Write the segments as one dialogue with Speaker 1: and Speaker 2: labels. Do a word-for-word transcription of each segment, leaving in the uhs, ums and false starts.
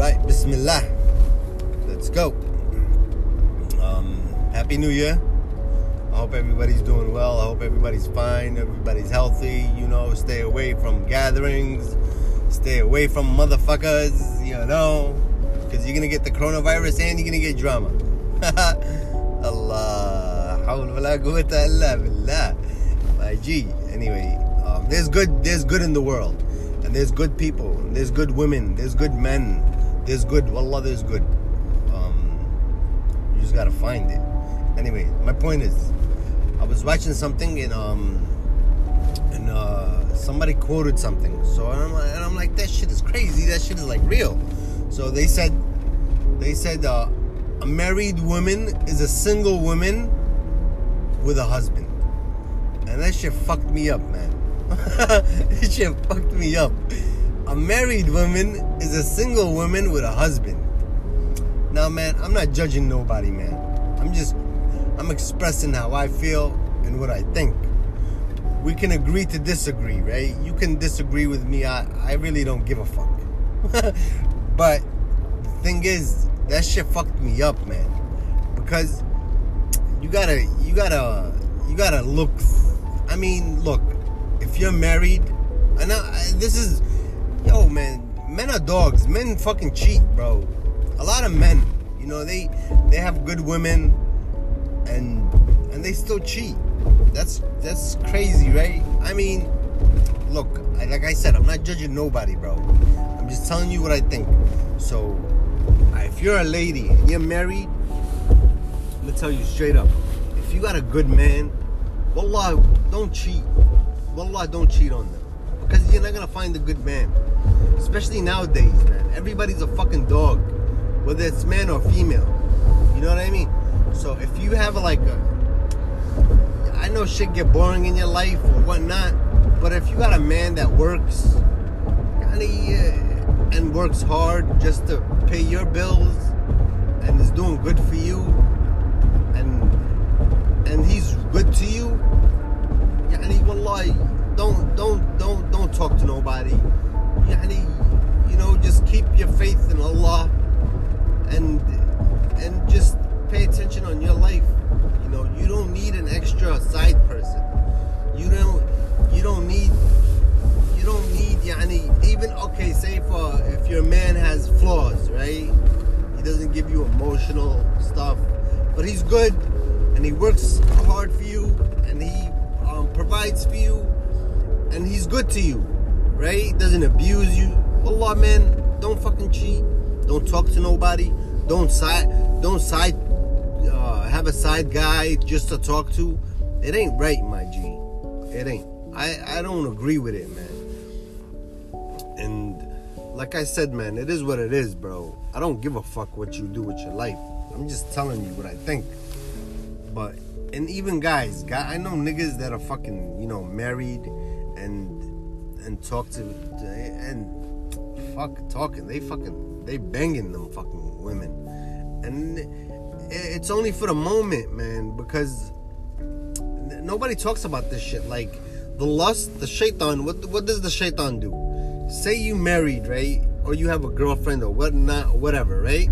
Speaker 1: Alright, Bismillah. Let's go. Um, Happy New Year. I hope everybody's doing well. I hope everybody's fine. Everybody's healthy. You know, stay away from gatherings. Stay away from motherfuckers, you know. Because you're going to get the coronavirus and you're going to get drama. Allah. Hawla wala quwwata illa billah. My G. Anyway, um, there's good, there's good in the world. And there's good people. And there's good women. There's good men. There's good. Wallah, there's good. Um, you just got to find it. Anyway, my point is, I was watching something and um and uh somebody quoted something. So and I'm, and I'm like, that shit is crazy. That shit is like real. So they said they said uh, a married woman is a single woman with a husband. And that shit fucked me up, man. That shit fucked me up. A married woman is a single woman with a husband. Now, man, I'm not judging nobody, man. I'm just I'm expressing how I feel and what I think. We can agree to disagree, right? You can disagree with me. I, I really don't give a fuck. But the thing is, that shit fucked me up, man. Because you gotta, you gotta, you gotta look. I mean, look, if you're married, and I, this is, yo, man, men are dogs. Men fucking cheat, bro. A lot of men, you know, they they have good women. And and they still cheat. That's that's crazy, right? I mean, look, I, like I said, I'm not judging nobody, bro. I'm just telling you what I think. So, if you're a lady and you're married, I'm gonna tell you straight up. If you got a good man, wallah, don't cheat. Wallah, don't cheat on them. Because you're not gonna find a good man. Especially nowadays, man. Everybody's a fucking dog. Whether it's man or female. You know what I mean? So if you have like a, I know shit get boring in your life or whatnot, but if you got a man that works, and works hard just to pay your bills, and is doing good for you, and and he's good to you, yani wallahi, don't don't don't don't talk to nobody. Yani, you know, just keep your faith in Allah, and and just pay attention on your life. You know, you don't need an extra side person. You don't you don't need you don't need yani, even okay, say for if your man has flaws, right? He doesn't give you emotional stuff, but he's good and he works hard for you and he um, provides for you and he's good to you, right? Doesn't abuse you. Allah, man, don't fucking cheat. Don't talk to nobody. Don't side don't side Uh, have a side guy just to talk to. It ain't right, my G. It ain't. I, I don't agree with it, man. And like I said, man, it is what it is, bro. I don't give a fuck what you do with your life. I'm just telling you what I think. But, and even guys, guy, I know niggas that are fucking, you know, married and and talk to, and fuck talking. They fucking, they banging them fucking women. And it's only for the moment, man, because nobody talks about this shit. Like, the lust, the shaitan, what what does the shaitan do? Say you married, right? Or you have a girlfriend or whatnot, whatever, right?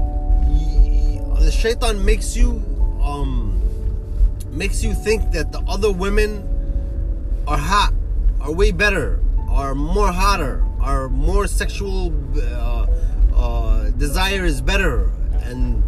Speaker 1: The shaitan makes you, um, makes you think that the other women are hot, are way better, are more hotter, are more sexual, uh, uh, desire is better, and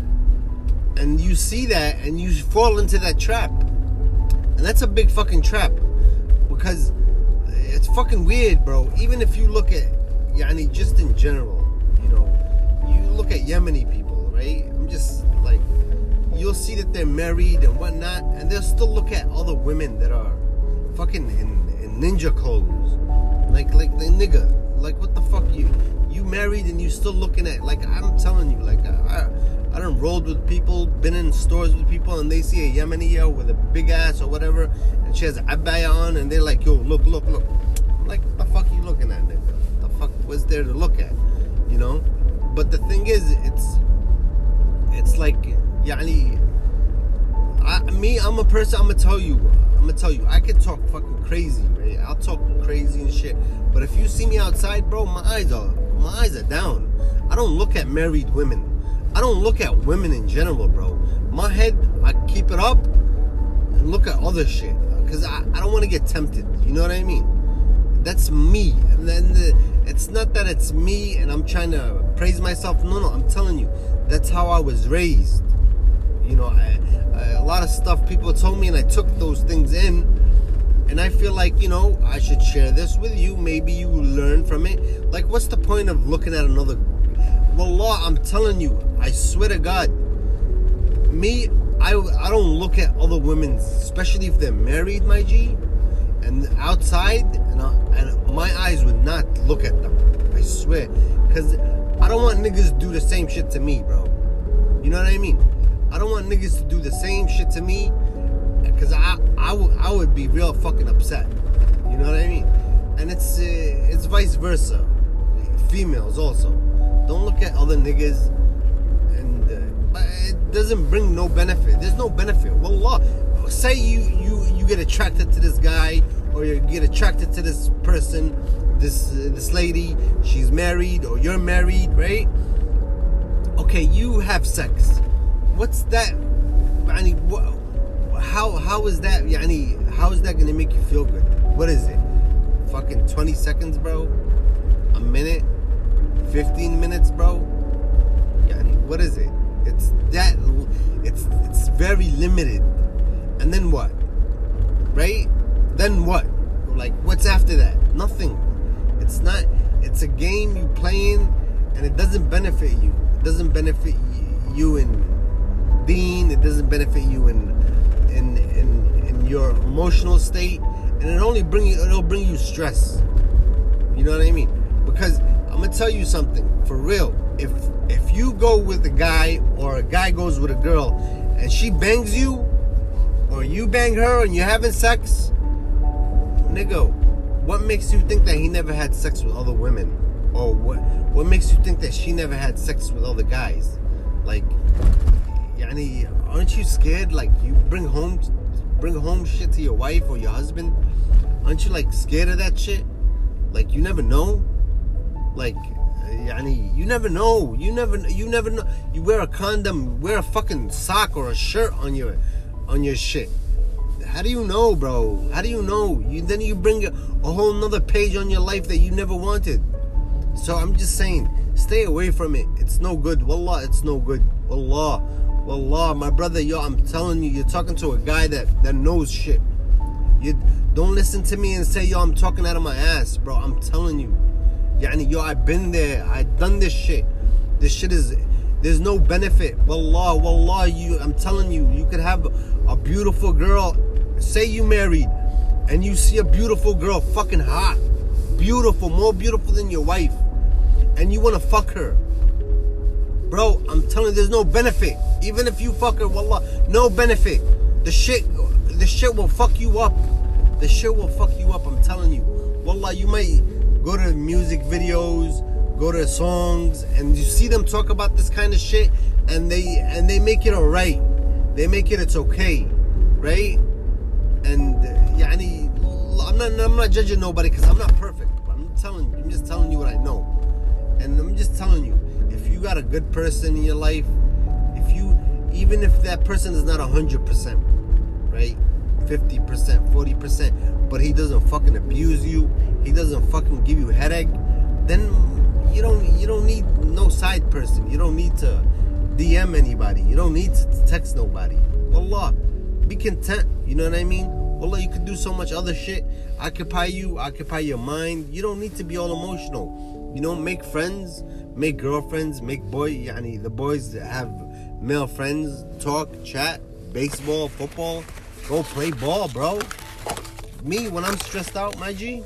Speaker 1: And you see that, and you fall into that trap. And that's a big fucking trap. Because it's fucking weird, bro. Even if you look at, yani, just in general, you know, you look at Yemeni people, right? I'm just, like, you'll see that they're married and whatnot, and they'll still look at other women that are fucking in, in ninja clothes. Like, like, the nigga. Like, what the fuck? You, you married and you still looking at, like, I'm telling you, like, I... I done rolled with people, been in stores with people, and they see a Yemeni yo with a big ass or whatever, and she has an abaya on, and they're like, yo, look, look, look. I'm like, what the fuck are you looking at, nigga? What the fuck was there to look at? You know? But the thing is, it's, it's like, yani, I, me, I'm a person, I'm gonna tell you, I'm gonna tell you, I can talk fucking crazy, right? I'll talk crazy and shit, but if you see me outside, bro, my eyes are, my eyes are down. I don't look at married women. I don't look at women in general, bro. My head, I keep it up and look at other shit. Because I, I don't want to get tempted. You know what I mean? That's me. And then the, it's not that it's me and I'm trying to praise myself. No, no, I'm telling you. That's how I was raised. You know, I, I, a lot of stuff people told me and I took those things in. And I feel like, you know, I should share this with you. Maybe you learn from it. Like, what's the point of looking at another... Wallah, I'm telling you, I swear to God, me, I, I don't look at other women, especially if they're married, my G, and outside, and, I, and my eyes would not look at them. I swear. Because I don't want niggas to do the same shit to me, bro. You know what I mean? I don't want niggas to do the same shit to me, because I, I, w- I would be real fucking upset. You know what I mean? And it's, uh, it's vice versa. Females also. Don't look at other niggas, and uh, but it doesn't bring no benefit. There's no benefit. Wallah, say you, you, you get attracted to this guy, or you get attracted to this person, this uh, this lady, she's married, or you're married, right? Okay, you have sex. What's that? I mean, what, how how is that? I mean, how is that gonna make you feel good? What is it? Fucking twenty seconds, bro? A minute? fifteen minutes, bro? Yani, what is it? It's that, it's it's very limited. And then what? Right? Then what? Like, what's after that? Nothing. It's not, it's a game you playing, and it doesn't benefit you. It doesn't benefit you in being, it doesn't benefit you in in in, in your emotional state, and it only bring you, it'll bring you stress. You know what I mean? Because I'm gonna tell you something, for real. If if you go with a guy, or a guy goes with a girl, and she bangs you, or you bang her and you're having sex, nigga, what makes you think that he never had sex with other women? Or what what makes you think that she never had sex with other guys? Like, yani, aren't you scared? Like, you bring home bring home shit to your wife or your husband? Aren't you, like, scared of that shit? Like, you never know? Like, yani, you never know. You never, you never know. You wear a condom, wear a fucking sock or a shirt on your, on your shit. How do you know, bro? How do you know? You then you bring a, a whole nother page on your life that you never wanted. So I'm just saying, stay away from it. It's no good. Wallah, it's no good. Wallah, wallah, my brother, yo, I'm telling you, you're talking to a guy that that knows shit. You don't listen to me and say, yo, I'm talking out of my ass, bro. I'm telling you. Yani, yo, I've been there. I've done this shit. This shit is, there's no benefit. Wallah, wallah, you, I'm telling you, you could have a beautiful girl. Say you married, and you see a beautiful girl, fucking hot, beautiful, more beautiful than your wife, and you want to fuck her. Bro, I'm telling you, there's no benefit. Even if you fuck her, wallah, no benefit. The shit, the shit will fuck you up. The shit will fuck you up, I'm telling you. Wallah, you might go to music videos, go to songs, and you see them talk about this kind of shit, and they and they make it alright. They make it it's okay, right? And uh, yani, I'm not I'm not judging nobody because I'm not perfect. But I'm telling you, I'm just telling you what I know, and I'm just telling you, if you got a good person in your life, if you even if that person is not a hundred percent, right, fifty percent, forty percent, but he doesn't fucking abuse you, he doesn't fucking give you headache, then you don't you don't need no side person. You don't need to D M anybody. You don't need to text nobody. Wallah, be content. You know what I mean? Wallah, you could do so much other shit. Occupy you, occupy your mind. You don't need to be all emotional. You know, make friends, make girlfriends, make boy. Yani, the boys that have male friends, talk, chat, baseball, football. Go play ball, bro. Me, when I'm stressed out, my G,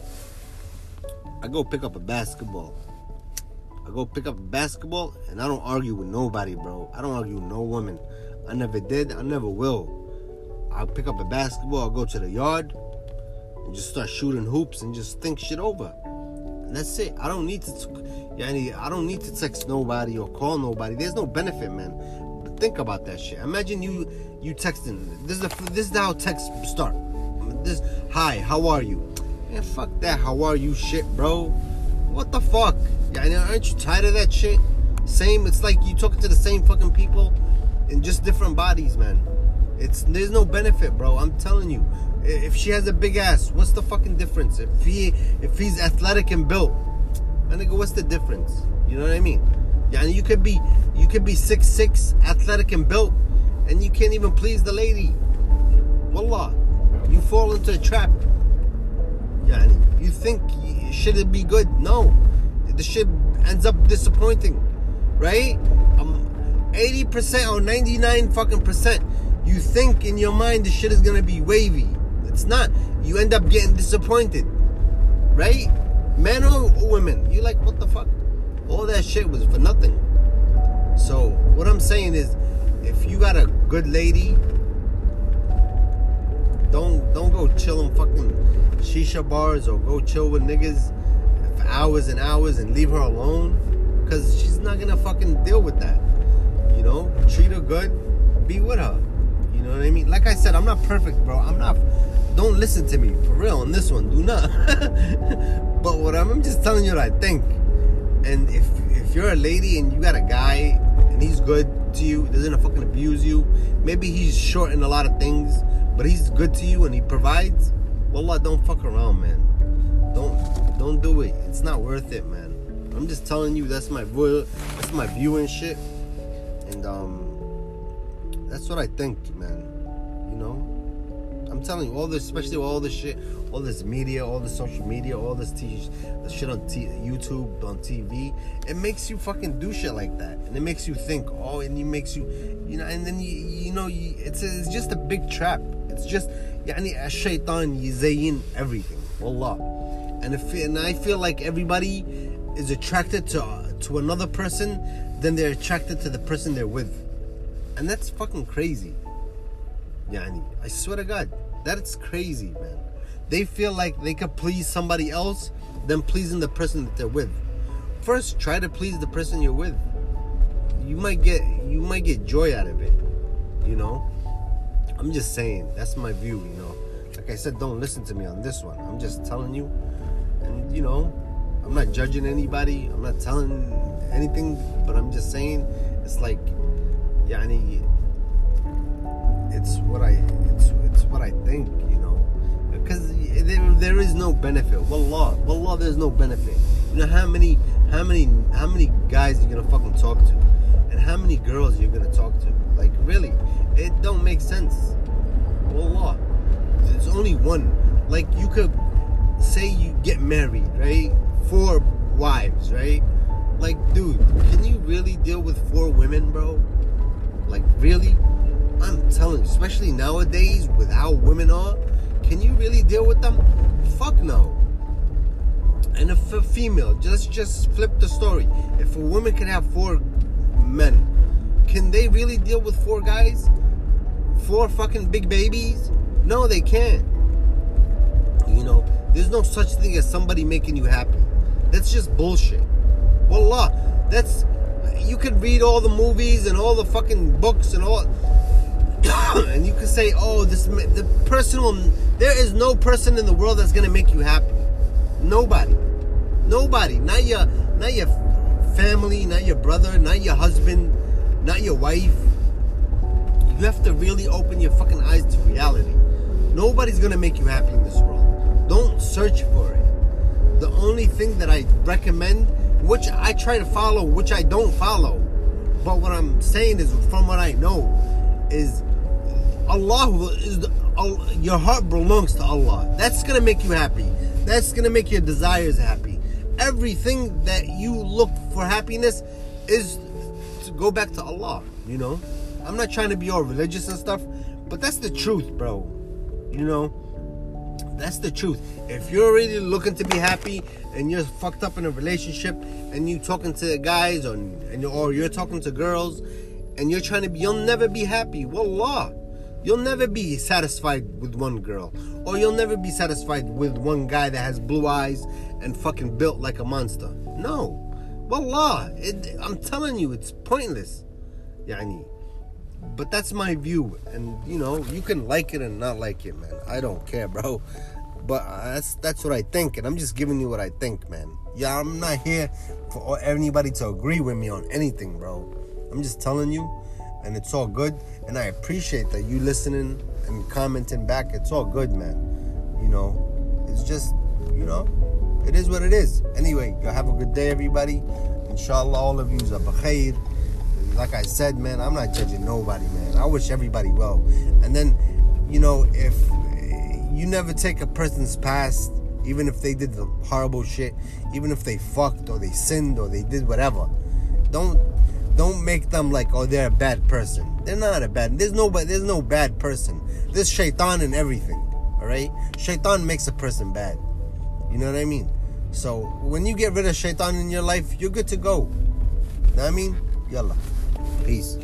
Speaker 1: I go pick up a basketball. I go pick up a basketball, and I don't argue with nobody, bro. I don't argue with no woman. I never did. I never will. I'll pick up a basketball. I'll go to the yard and just start shooting hoops and just think shit over. And that's it. I don't need to. Yani, I don't need to text nobody or call nobody. There's no benefit, man. But think about that shit. Imagine you you texting. This is a, this is how texts start. This, hi, how are you? Man, fuck that how are you shit, bro. What the fuck? Yani, aren't you tired of that shit? Same, it's like you talking to the same fucking people in just different bodies, man. It's there's no benefit, bro. I'm telling you. If she has a big ass, what's the fucking difference? If he if he's athletic and built, my nigga, what's the difference? You know what I mean? Yeah, and you could be you could be six six, athletic and built, and you can't even please the lady. Wallah, you fall into a trap. Yeah, you think should it be good? No, the shit ends up disappointing, right? Um, eighty percent or ninety-nine fucking percent, you think in your mind the shit is gonna be wavy. It's not. You end up getting disappointed, right? Men or women, you like, what the fuck? All that shit was for nothing. So what I'm saying is, if you got a good lady, don't don't go chill in fucking shisha bars or go chill with niggas for hours and hours and leave her alone, because she's not gonna fucking deal with that. You know, treat her good, be with her. You know what I mean? Like I said, I'm not perfect, bro. I'm not. Don't listen to me for real on this one. Do not. But what I'm, I'm just telling you what I think. And if if you're a lady and you got a guy and he's good to you, doesn't fucking abuse you, maybe he's short in a lot of things, but he's good to you and he provides, wallah, don't fuck around, man. Don't don't do it. It's not worth it, man. I'm just telling you, that's my view, that's my view and shit. And um that's what I think, man. You know? I'm telling you, all this, especially all this shit, all this media, all this social media, all this t- the shit on t- YouTube, on T V, it makes you fucking do shit like that, and it makes you think, oh, and it makes you, you know, and then you, you know, you, it's a, it's just a big trap. It's just, yani, a shaitan yuzayin everything, wallah. And if and I feel like everybody is attracted to uh, to another person, then they're attracted to the person they're with, and that's fucking crazy. Yani, I swear to God, that's crazy, man. They feel like they could please somebody else than pleasing the person that they're with. First, try to please the person you're with. You might get you might get joy out of it, you know. I'm just saying, that's my view, you know. Like I said, don't listen to me on this one. I'm just telling you, and you know, I'm not judging anybody. I'm not telling anything, but I'm just saying, it's like, yani, it's what I it's it's what I think, you know, because there there is no benefit. Wallah, wallah, there's no benefit. You know how many how many how many guys you're gonna fucking talk to, and how many girls you're gonna talk to? Like, really, it don't make sense. Wallah, there's only one. Like, you could say you get married, right? Four wives, right? Like, dude, can you really deal with four women, bro? Like, really? I'm telling you, especially nowadays with how women are, can you really deal with them? Fuck no. And if a female, just just flip the story. If a woman can have four men, can they really deal with four guys? Four fucking big babies? No, they can't. You know, there's no such thing as somebody making you happy. That's just bullshit. Wallah, that's, you could read all the movies and all the fucking books and all, and you can say, oh, this the person will, there is no person in the world that's gonna make you happy. Nobody. Nobody. Not your not your family, not your brother, not your husband, not your wife. You have to really open your fucking eyes to reality. Nobody's gonna make you happy in this world. Don't search for it. The only thing that I recommend, which I try to follow, which I don't follow, but what I'm saying is, from what I know, is Allah is the, uh, your heart belongs to Allah. That's gonna make you happy. That's gonna make your desires happy. Everything that you look for happiness is to go back to Allah. You know, I'm not trying to be all religious and stuff, but that's the truth, bro. You know, that's the truth. If you're really looking to be happy and you're fucked up in a relationship and you talking to guys or and or you're talking to girls and you're trying to be, you'll never be happy. Wallah. You'll never be satisfied with one girl. Or you'll never be satisfied with one guy that has blue eyes and fucking built like a monster. No. Wallah. It, I'm telling you, it's pointless. Yani. But that's my view. And, you know, you can like it and not like it, man. I don't care, bro. But uh, that's that's what I think, and I'm just giving you what I think, man. Yeah, I'm not here for anybody to agree with me on anything, bro. I'm just telling you, and it's all good. And I appreciate that you listening and commenting back. It's all good, man. You know, it's just, you know, it is what it is. Anyway, you have a good day, everybody. Inshallah, all of yous are bakhair. Like I said, man, I'm not judging nobody, man. I wish everybody well. And then, you know, if you never take a person's past, even if they did the horrible shit, even if they fucked or they sinned or they did whatever, don't don't make them like, oh, they're a bad person. They're not a bad. There's no there's no bad person. There's shaitan in everything. All right, shaitan makes a person bad. You know what I mean? So when you get rid of shaitan in your life, you're good to go. Know what I mean? Yalla, peace.